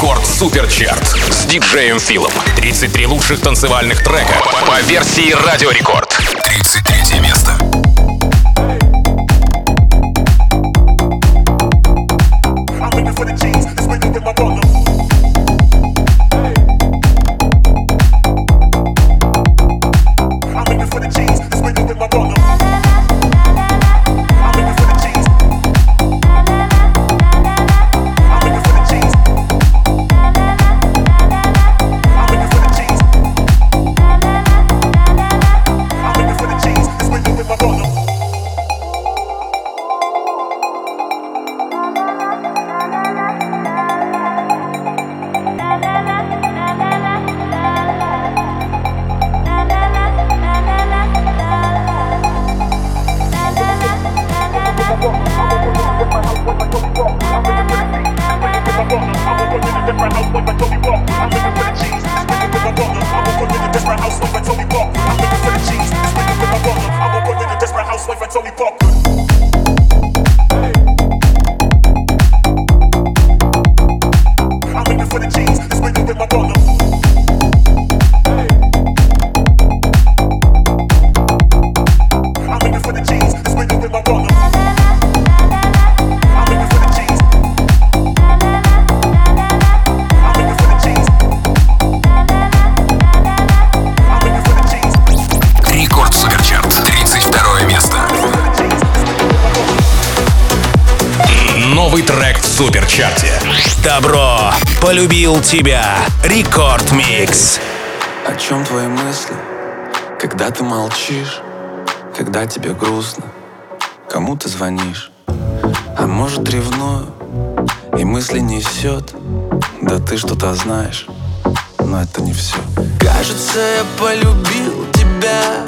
Рекорд Суперчарт с диджеем Филом. 33 лучших танцевальных трека по версии Радио Рекорд. 33 место. Суперчарте. Добро, полюбил тебя. Рекорд Микс. О чем твои мысли, когда ты молчишь, когда тебе грустно, кому ты звонишь? А может, ревную, и мысли несет. Да ты что-то знаешь, но это не все. Кажется, я полюбил тебя.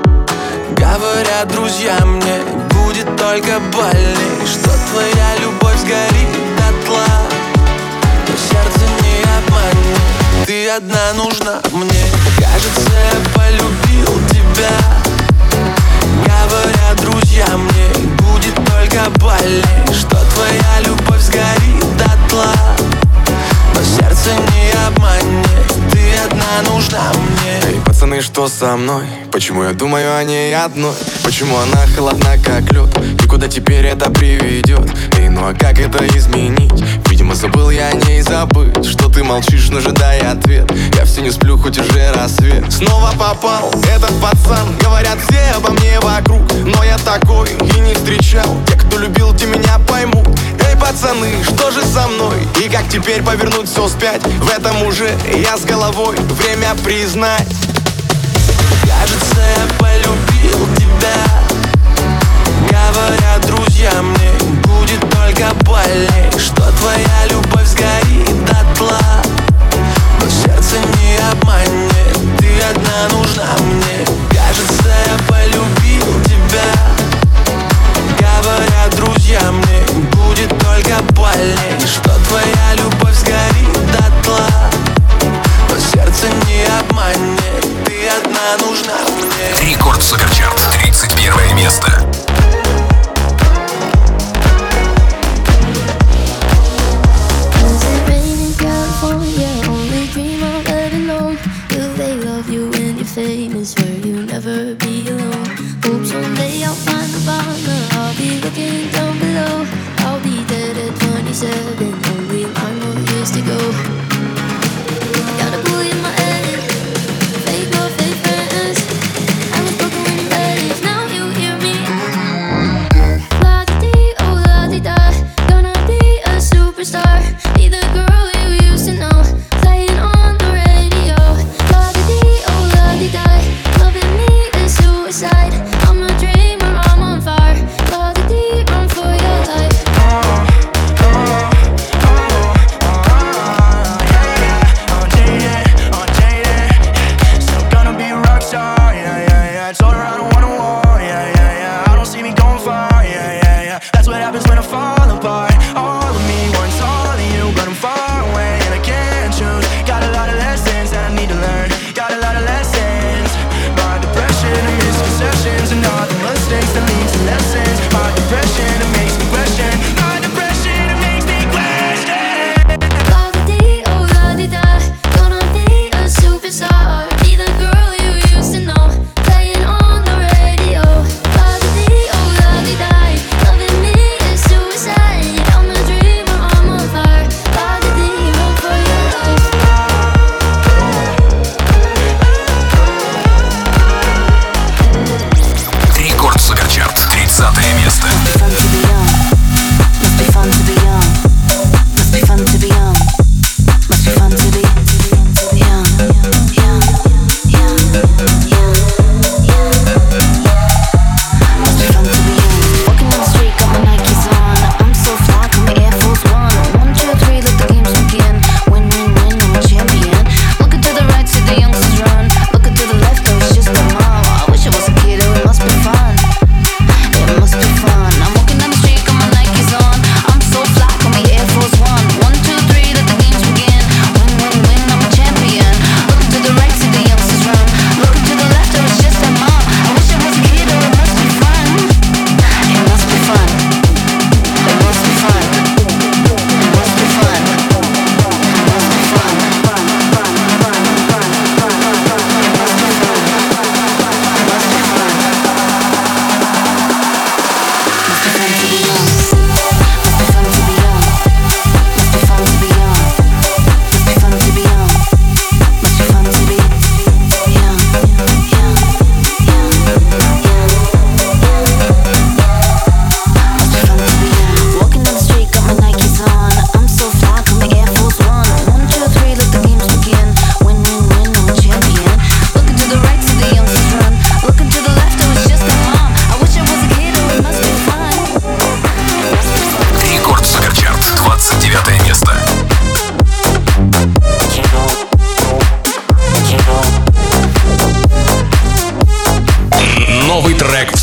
Говорят друзья мне, будет только больней, что твоя любовь сгорит дотла. Но сердце не обманет, ты одна нужна мне. Кажется, я полюбил тебя. Говорят друзья мне, будет только больней, что твоя любовь сгорит дотла. Но сердце не обманет, ты одна нужна мне. Эй, пацаны, что со мной? Почему я думаю о ней одной? Почему она холодна, как лед? И куда теперь это приведет? Эй, ну а как это изменить? Видимо, забыл я о ней забыть. Что ты молчишь, но ожидай ответ. Я все не сплю, хоть уже рассвет. Снова попал этот пацан. Говорят все обо мне вокруг, но я такой и не встречал. Те, кто любил, те меня поймут. Эй, пацаны, что же со мной? И как теперь повернуть все вспять? В этом уже я с головой, время признать. Кажется, я полюбил тебя. Говорят друзья мне, будет только больней, что твоя любовь сгорит дотла. Но сердце не обманет, ты одна нужна мне. Кажется, я полюбил тебя. Говорят друзья мне, будет только больней, что твоя любовь сгорит дотла. Но сердце не обманет, ты одна нужна мне. Рекорд Суперчарт, 31 место.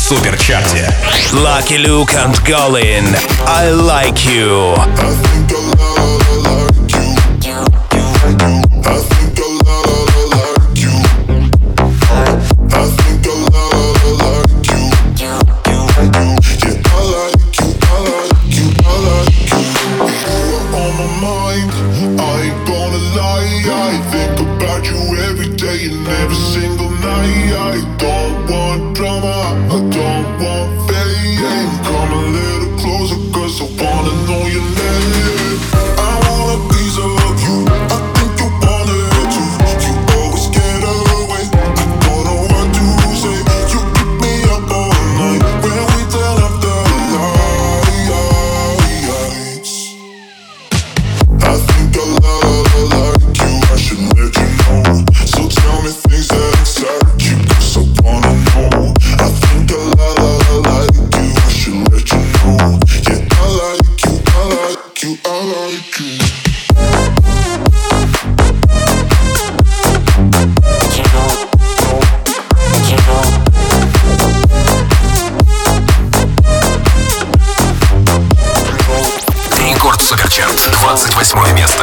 суперчарте. Lucky Luke and Colin, I Like You. Рекорд Суперчарт, 28 место.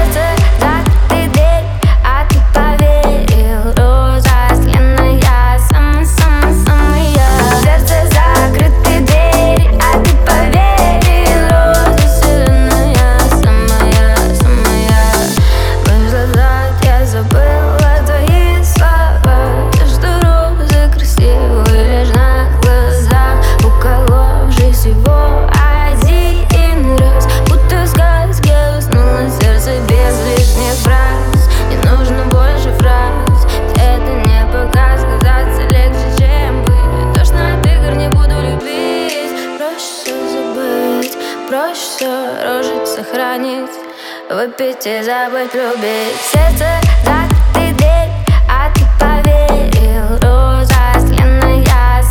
Выпить и забыть, любить. Сердце закрытый дверь, а ты поверил. Роза сленная,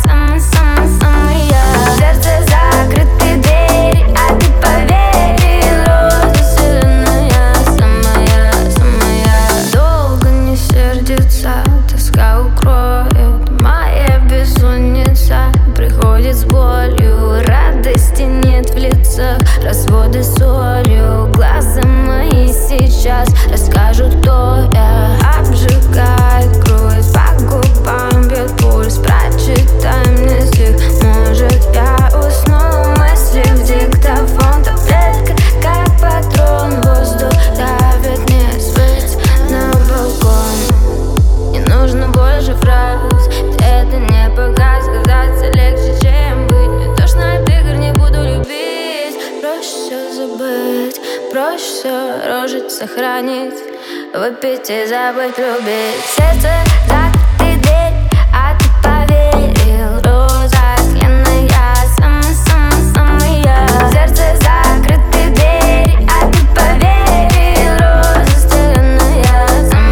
самая. Сердце закрытый дверь, а ты поверил. Роза сленая, самая. Долго не сердится, тоска укроет. Моя бессонница приходит с болью. Радости нет в лицах, разводы солью. Глаза мои сейчас расскажут, кто я. Обжигает кровь, по губам бьет пульс. Прочитай мне стих, может я усну. Мысли в диктофон, таблетка как патрон. Воздух давит, не свыть на балкон. Не нужно больше фраз, это не показ. Казаться легче, чем быть. Не тошно от игр, не буду любить. Проще все забыть, проще все рожить, сохранить. Выпить и забыть, любить. Сердце закрытый дверь, а ты поверил. Роза сленная, самая. Сердце закрытый дверь, а ты поверил. Роза сленная,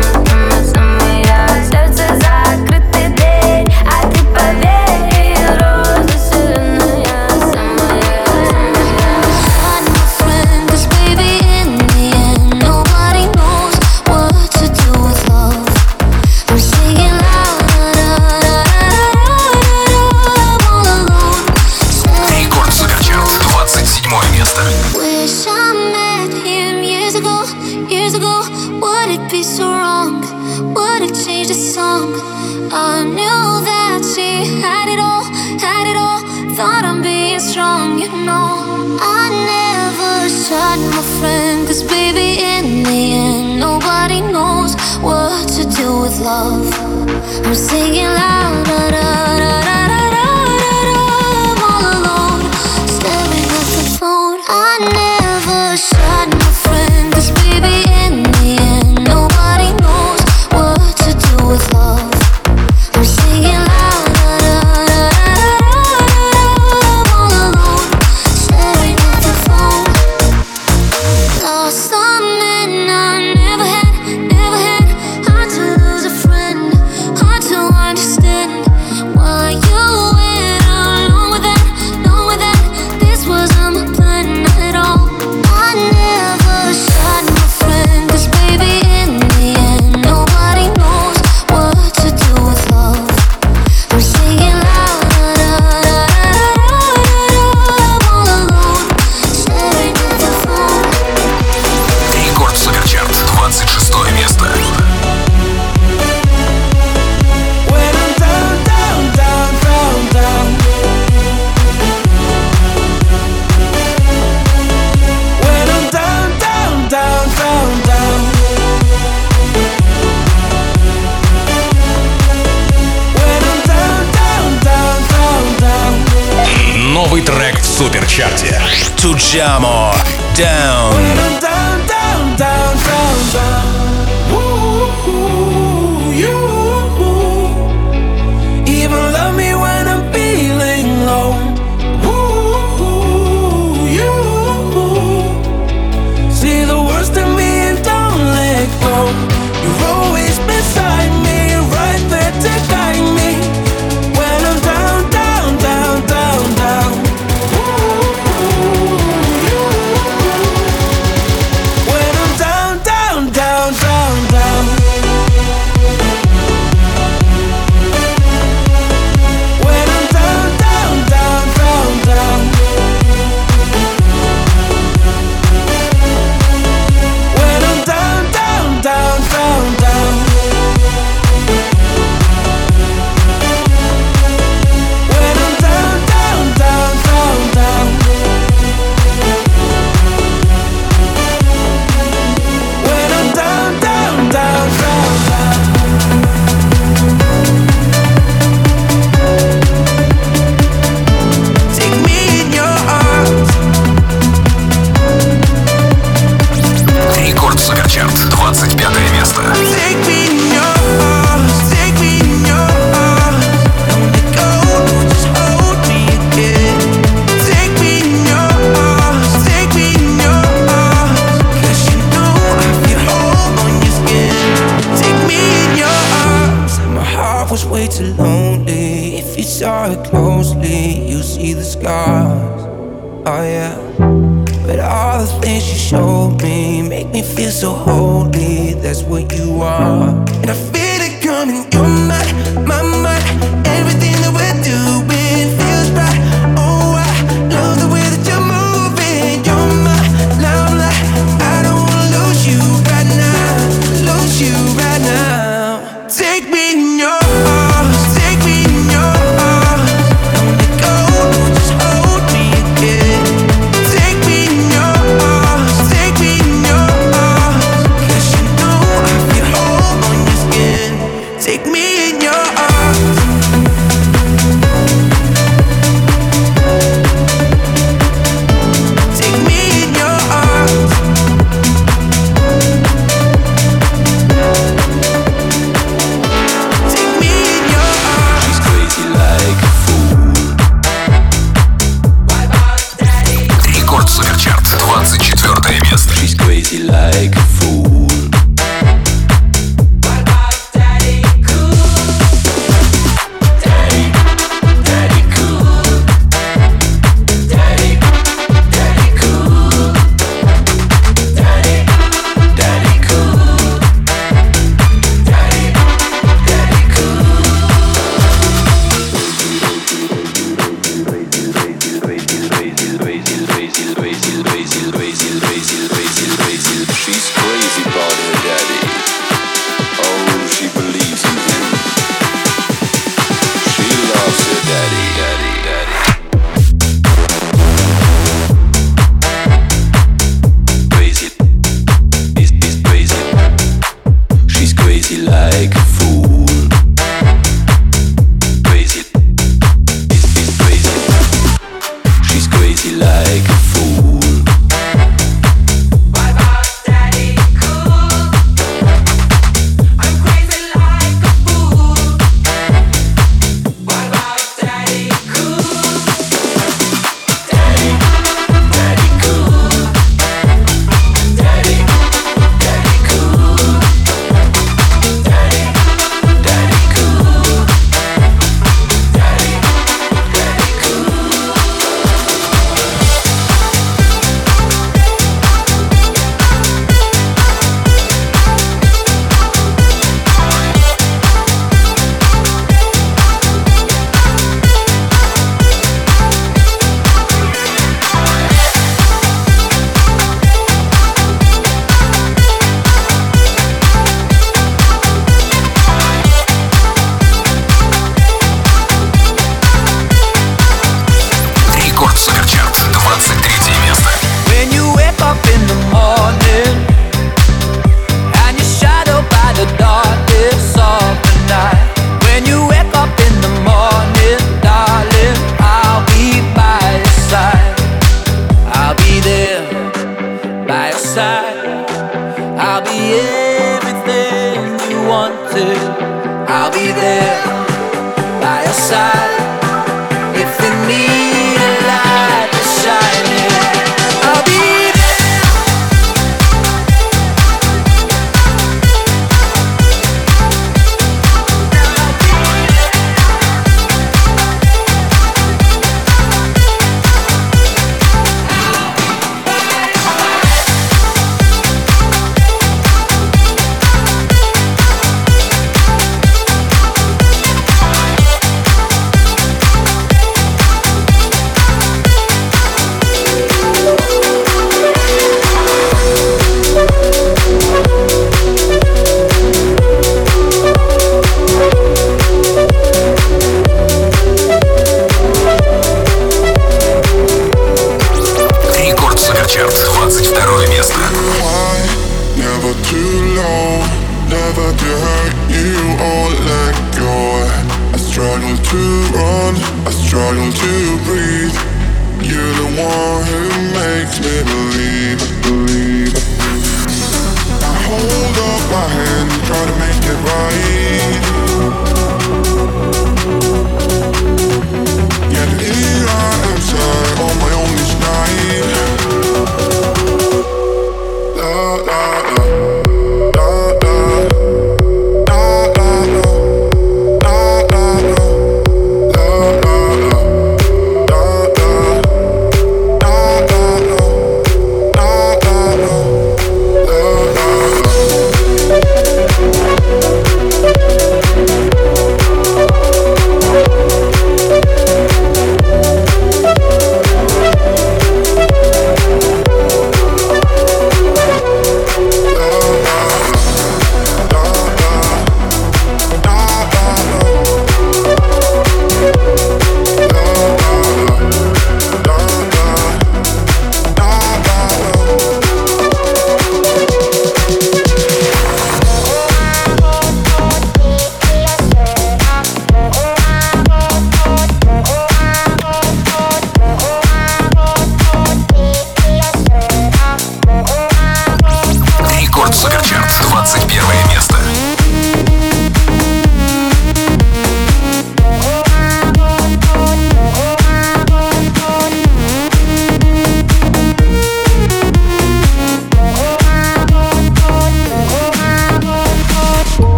самая. Сердце закрытый дверь, а ты поверил. Роза сленная, самая. Рекорд Суперчарт, 27 место. Wish I met him years ago. Would it be so wrong? Would it change the song? I knew that she had it all. Thought I'm being strong, you know. I never shot my friend, 'cause baby, in the end, nobody knows what to do with love. I'm singing loud, da, da, da, da, da, da, da. I'm all alone, staring at the phone. I never shot my friend, 'cause baby, in the end, nobody knows what to do with love. I'm singing loud, da, da, da, da, da. I'm all alone, staring at the phone. Lost some men I never had. Hard to lose a friend, hard to understand чарте. Tujamo, Down. When I'm down, down, down, down, down. Ooh, you even love me when I'm feeling low. Ooh, you see the worst in me and don't let go. You're always beside me, right there to guide me. When I'm down, down, down, down, down. When I'm down, down, down, down, down. When I'm down, down, down, down, down. When I'm down, down, down, down, down. When I'm down, down, down, down, down. When I'm down, down, down, down, down. Take me in your arms. Рекорд Суперчарт, 25 место. Take me in your arms. Take me in your arms. Don't let go, just hold me again. Take me in your arms. Take me in your arms. 'Cause you know I feel home on your skin. Take me in your arms. My heart was way too lonely. If you saw it closely, you see the scars. Oh yeah. But all the things you showed me make me feel so holy. That's what you are. And I feel it coming. You're my mind. Everything that we're doing feels right. Oh, I love the way that you're moving. You're my limelight. I don't wanna lose you right now. Lose you right now. Take me in your arms. Take me in your arms. Don't let go, just hold me again. Take me in your arms. Take me in your arms. 'Cause you know I feel home on your skin. Take me in your arms. I'll be everything you wanted. I'll be there by your side. If you need a light to shine in, I'll be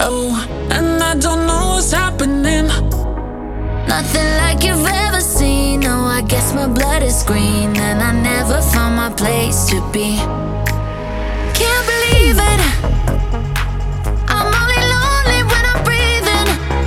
Oh, and I don't know what's happening. Nothing like you've ever seen. No, I guess my blood is green, and I never found my place to be. Can't believe it. I'm only lonely when I'm breathing.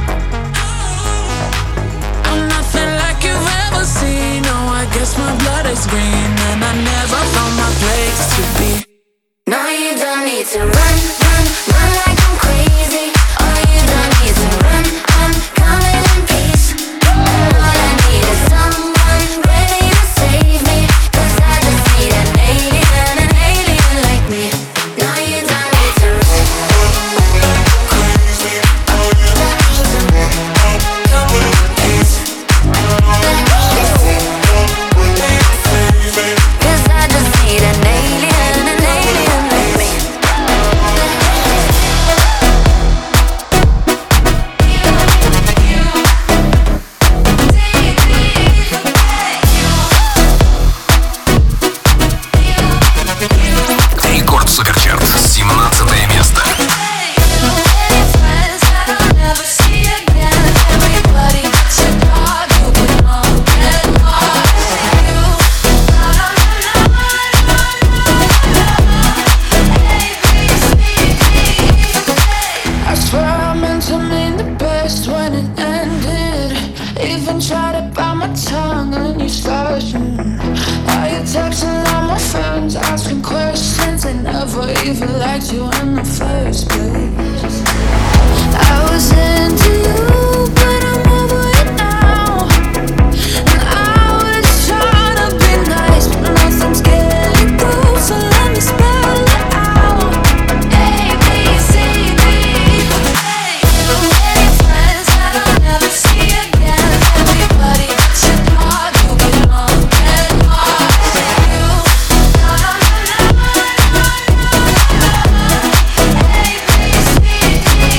I'm nothing like you've ever seen. No, I guess my blood is green, and I never found my place to be. No, you don't need to run, run, run like I'm crazy. Oh, you don't need to run, I'm coming in peace. All I need is someone ready to save me, 'cause I just need an alien like me. No, you don't need to run. Crazy. Oh, you don't need to run. Come in peace. 'Cause I just need an alien like me. Рекорд Суперчарт, 17 место. I swear I meant to mean the best when it ended. Even tried to bite my tongue and you started. Now you're texting all my friends, asking questions. They never even liked you in the first place. I was into you, but I'm over it now. And I was trying to be nice, but nothing's getting through. So let me spell it out. A, B, C, D. Friends that I'll never see again. Everybody that you thought you belong and lost you. A, B, C, D.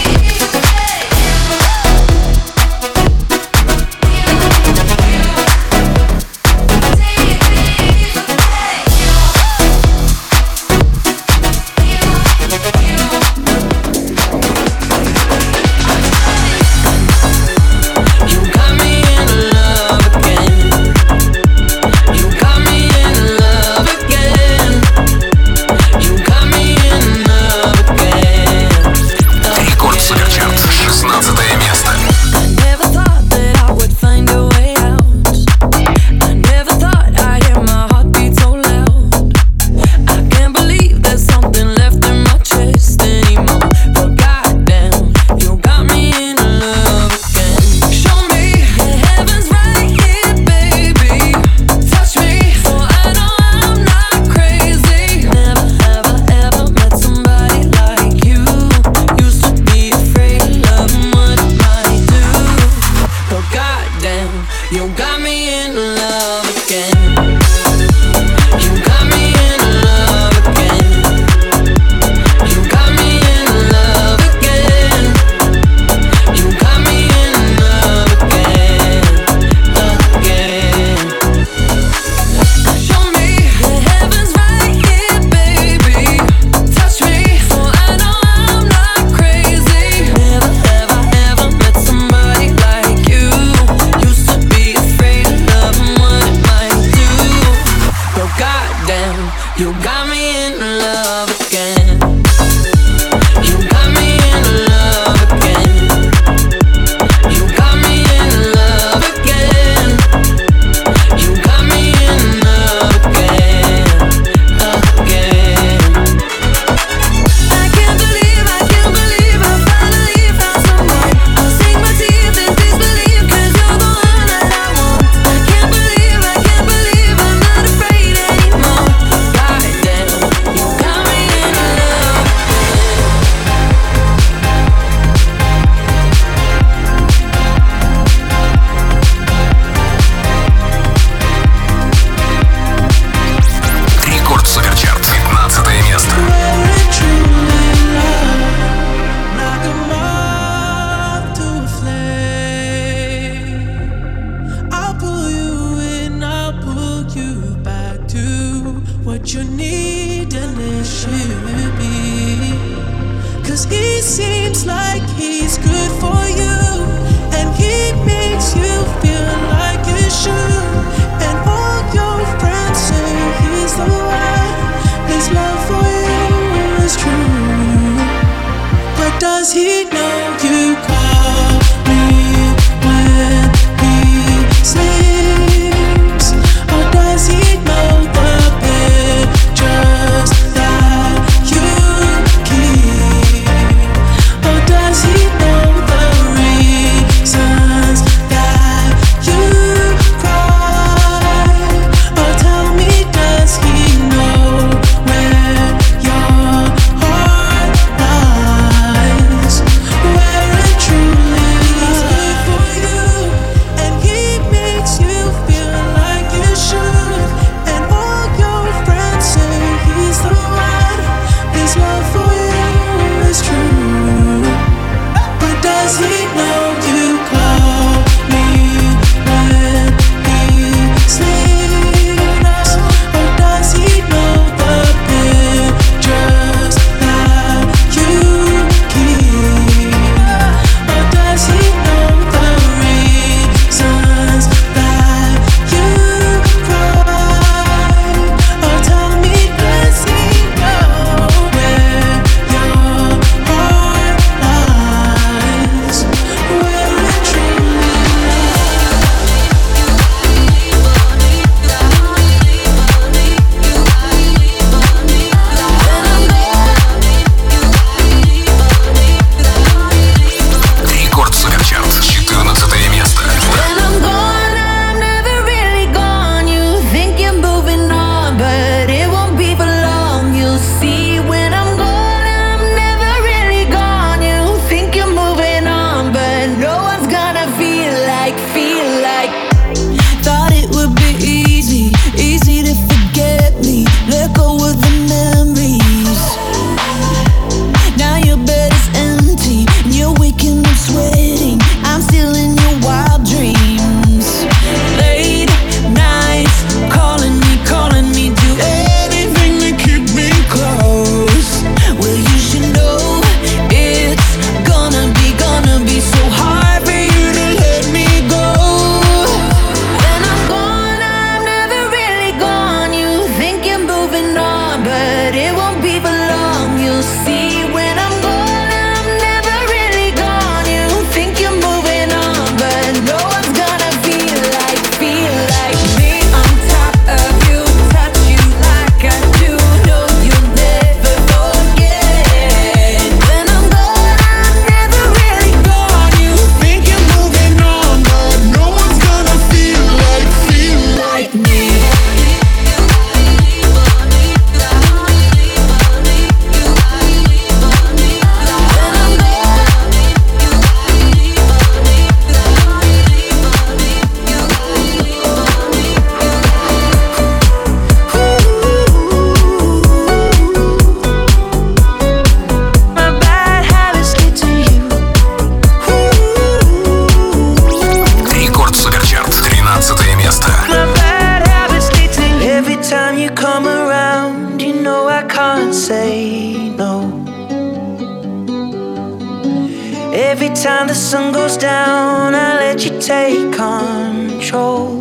Every time the sun goes down, I let you take control.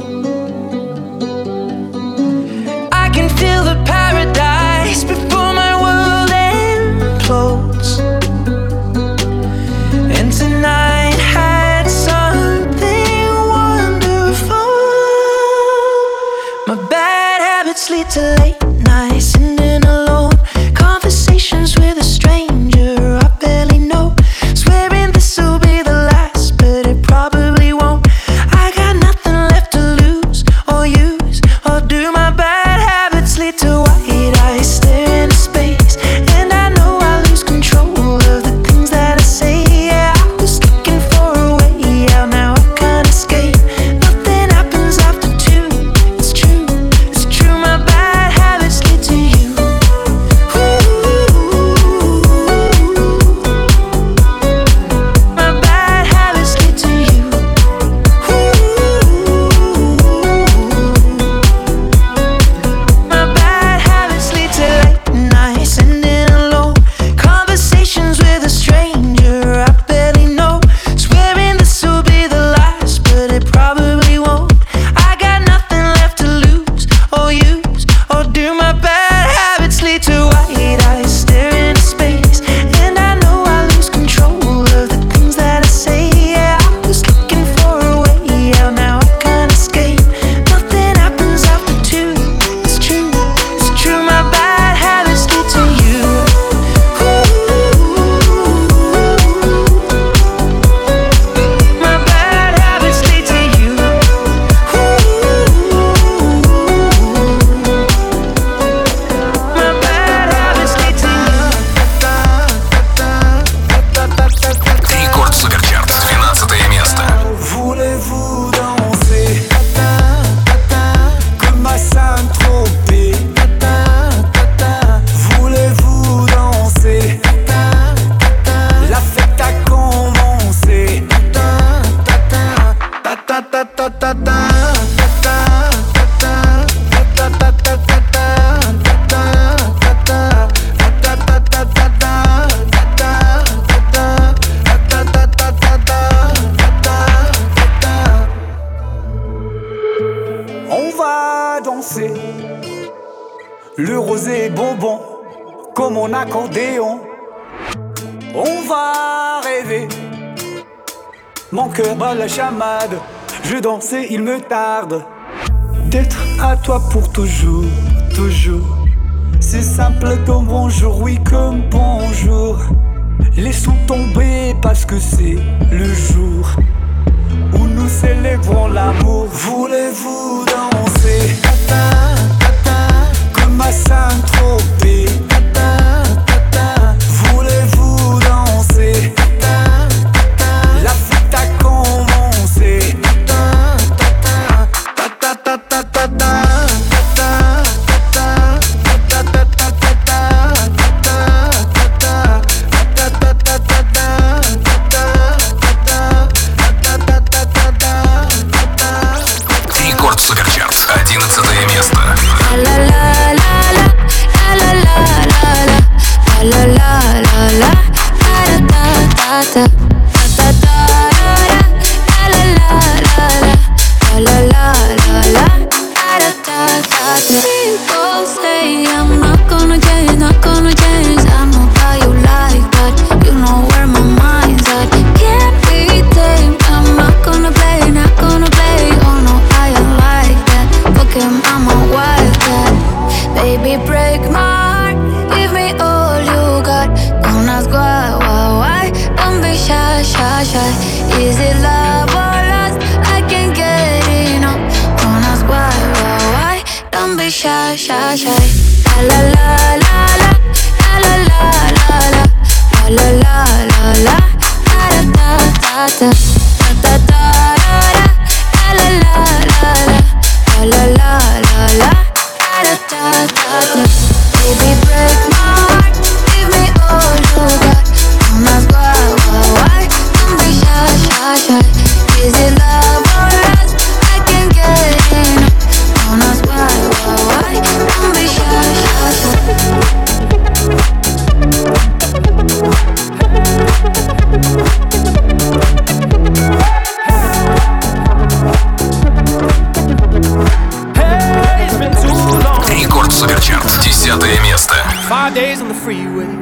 I can feel the paradise before my world implodes. And tonight had something wonderful. My bad habits lead to late nights, sitting alone, conversations with a stranger I barely know. Swearing this will be the last, but it probably won't. I got nothing left to lose or use or do. My bad habits lead to white eyes staring into space, and I know I lose control of the things that I say. Yeah, I was looking for a way out, now I can't escape. Nothing happens after two. It's true, it's true. My bad habits lead to you. My bad habits lead to you. My bad habits lead to late nights, sitting alone, conversations with a stranger I barely know. Swearing this will be the last, but it probably won't. I got nothing left to lose or use or do. My bad habits lead to white eyes staring into space, and I know I lose control of the things that I say. Yeah, I was looking for a way out, now I can't escape. Nothing happens after two. It's true, it's true. My bad habits lead to you. My bad habits lead to you. My bad habits lead to you. Рекорд Суперчарт, 12 место. Voulez-vous danser comme à Saint-Tropez? Voulez-vous danser? La fête a commencé. On va danser le rosé bonbon comme mon accordéon. On va rêver, mon cœur bat la chamade. Je danse et il me tarde d'être à toi pour toujours, toujours. C'est simple comme bonjour, oui comme bonjour. Laissons tomber parce que c'est le jour où nous célébrons l'amour. Voulez-vous danser comme à Saint-Tropez? Voulez-vous danser? La fête a commencé. Рекорд Суперчарт, 11 место. La la la la la la la la la la la la ta ta ta ta la la la la la la la ta ta. People say I'm not gonna change, not gonna change. I know how you like that. You know where my mind's at. Can't be tamed. I'm not gonna play, not gonna play. Oh no, I am like that. Fuck him, I'm a wildcat. Baby, break my heart. Give me all you got. Don't ask why. Don't be shy, shy, shy. Is it love or lust? I can't get enough. Don't ask why. Don't be shy, shy, shy. La la la la la la la la la la la la la ta ta ta ta ta ta la la la la la la la la ta ta ta. Baby, break my heart. Give me all you got. Don't ask why. Don't be shy, shy, shy. Is it love or lust? I can't get enough. Don't ask why. Don't be shy, shy, shy.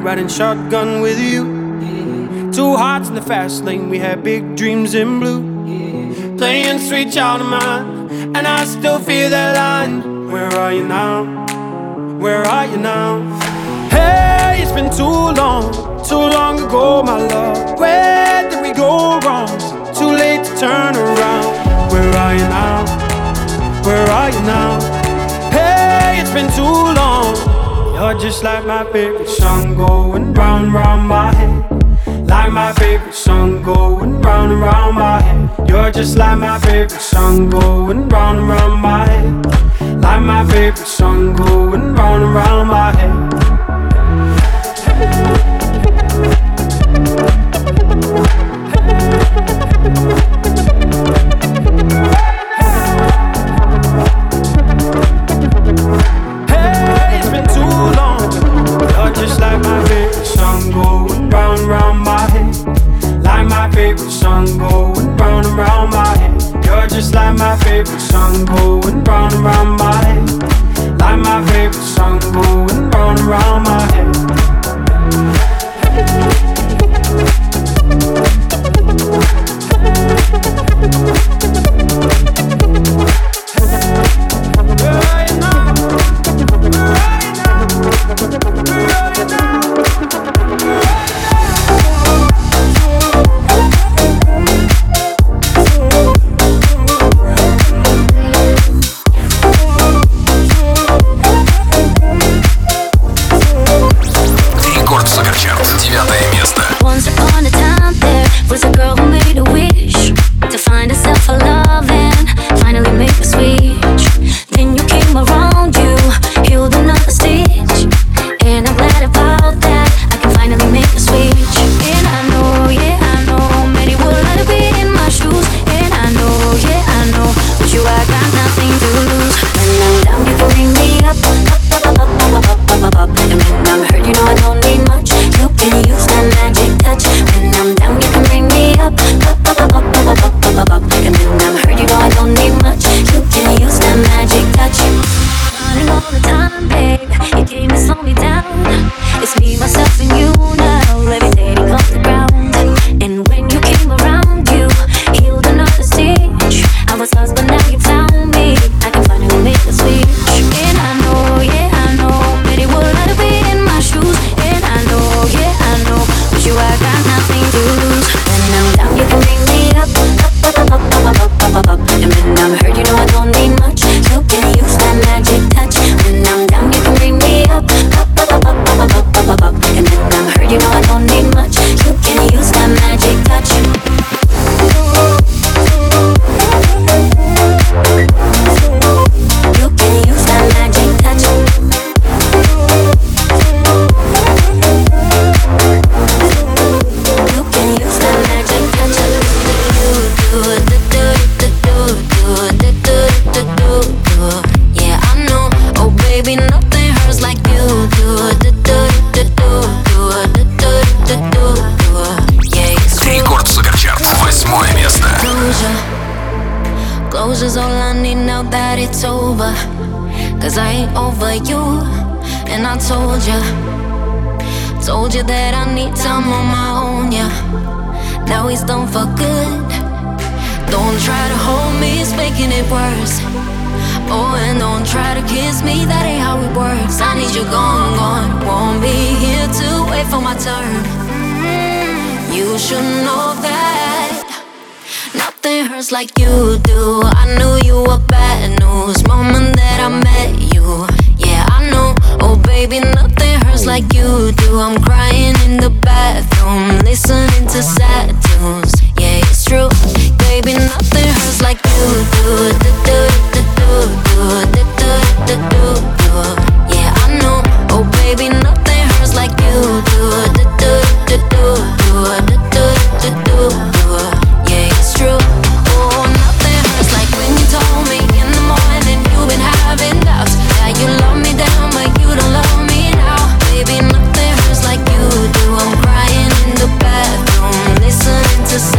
riding shotgun with you. Two hearts in the fast lane, we had big dreams in blue. Playing sweet child of mine, and I still feel that line. Where are you now? Where are you now? Hey, it's been too long ago, my love. Where did we go wrong? Too late to turn around. Where are you now? Where are you now? Hey, it's been too long. You're just like my favorite song going round and round my head. Like my favorite song going round and round my head. You're just like my favorite song going round and round my head. Like my favorite song going round and round my head. Hey, it's been too long. You're just like my favorite song going round and round my head. Like my favorite song going round and round my head. You're just like my favorite song going round and round my head. Like my favorite song going round and round my head. Closure's all I need now that it's over. Cause I ain't over you. And I told you that I need time on my own, yeah. Now he's done for good. Don't try to hold me, it's making it worse. Oh, and don't try to kiss me, that ain't how it works. I need you gone, gone. Won't be here to wait for my turn. You should know that nothing hurts like you do. I knew you were bad news moment that I met you. Yeah, I know. Oh baby, nothing hurts like you do. I'm crying in the bathroom, listening to sad tunes. Yeah, it's true. Baby, nothing hurts like you do. Yeah, I know. Oh baby, nothing hurts like you do. Yeah, it's true. Oh, nothing hurts like when you told me in the morning you've been having doubts. Yeah, you love me down, but you don't love me now. Baby, nothing hurts like you do. I'm crying in the bathroom, listening to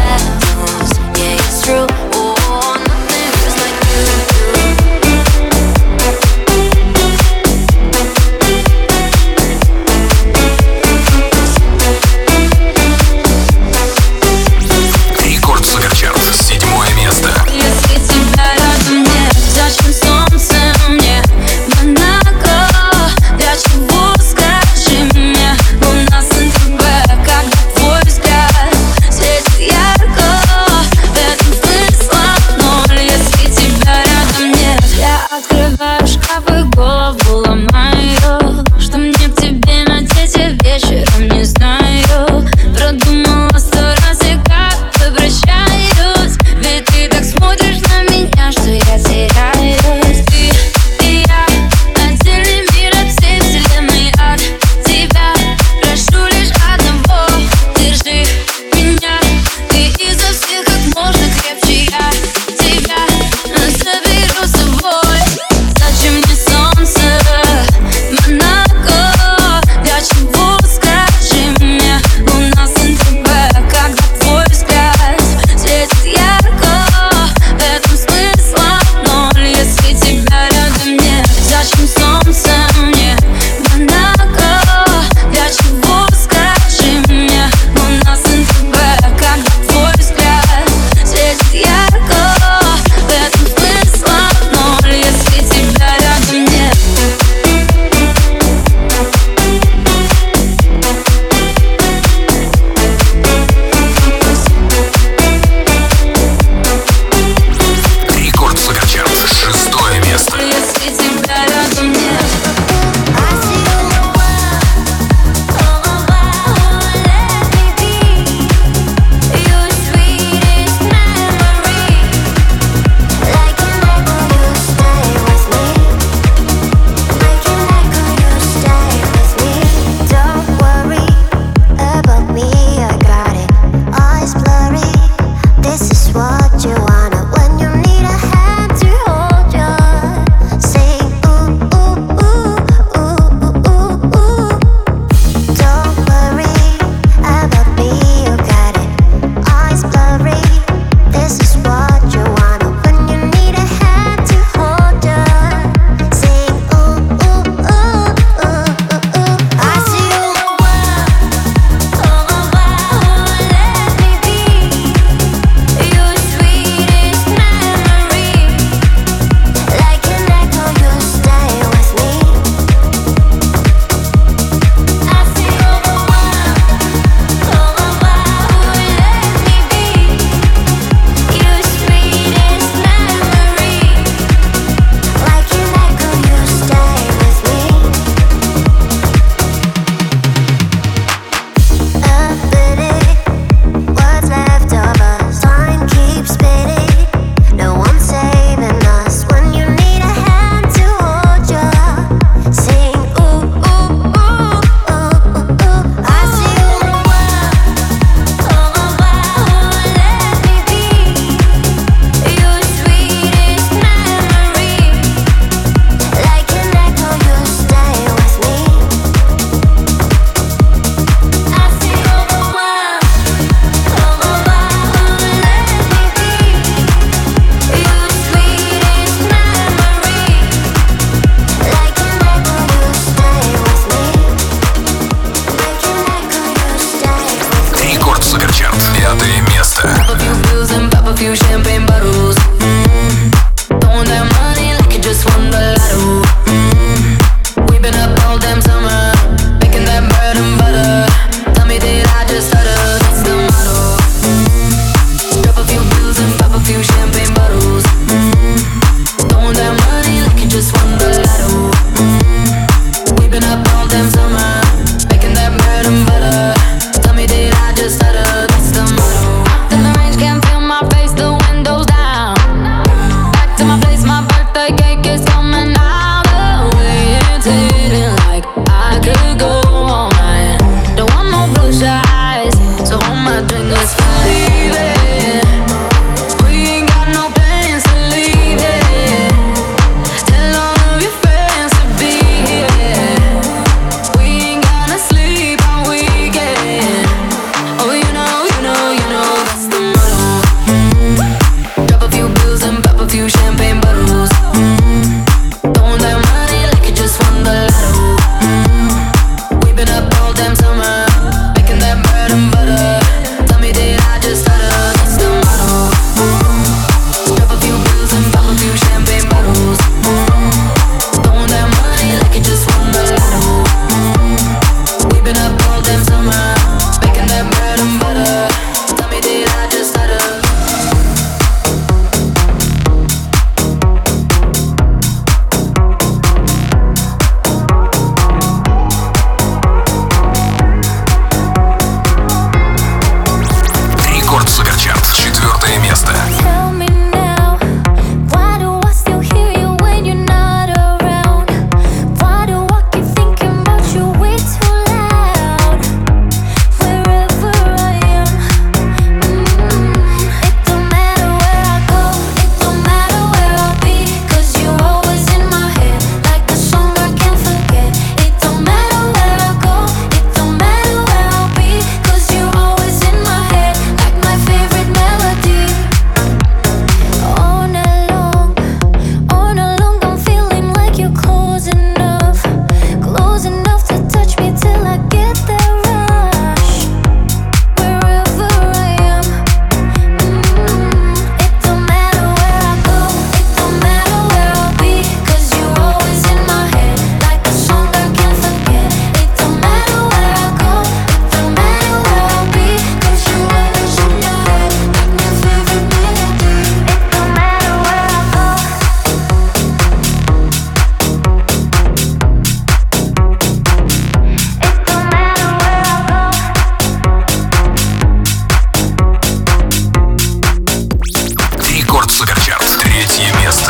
Рекорд Суперчарт. 3 место.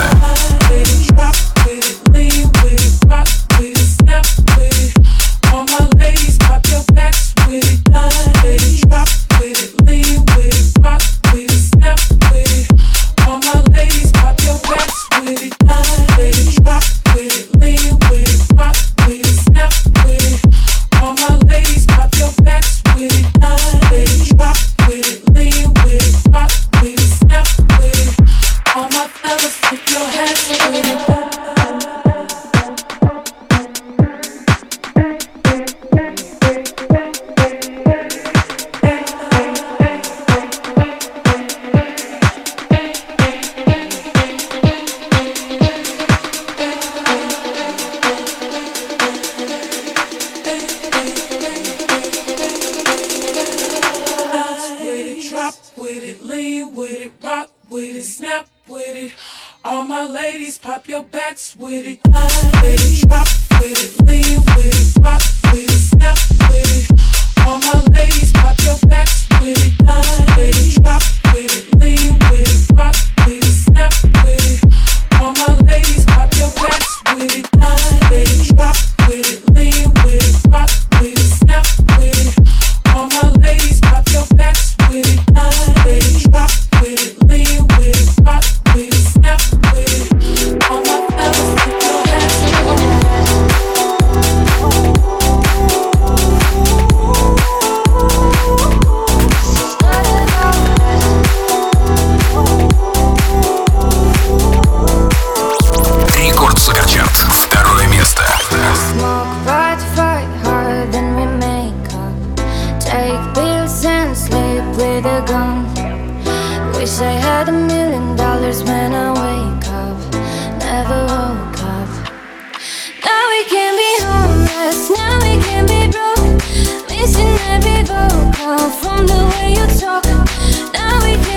From the way you talk, now we can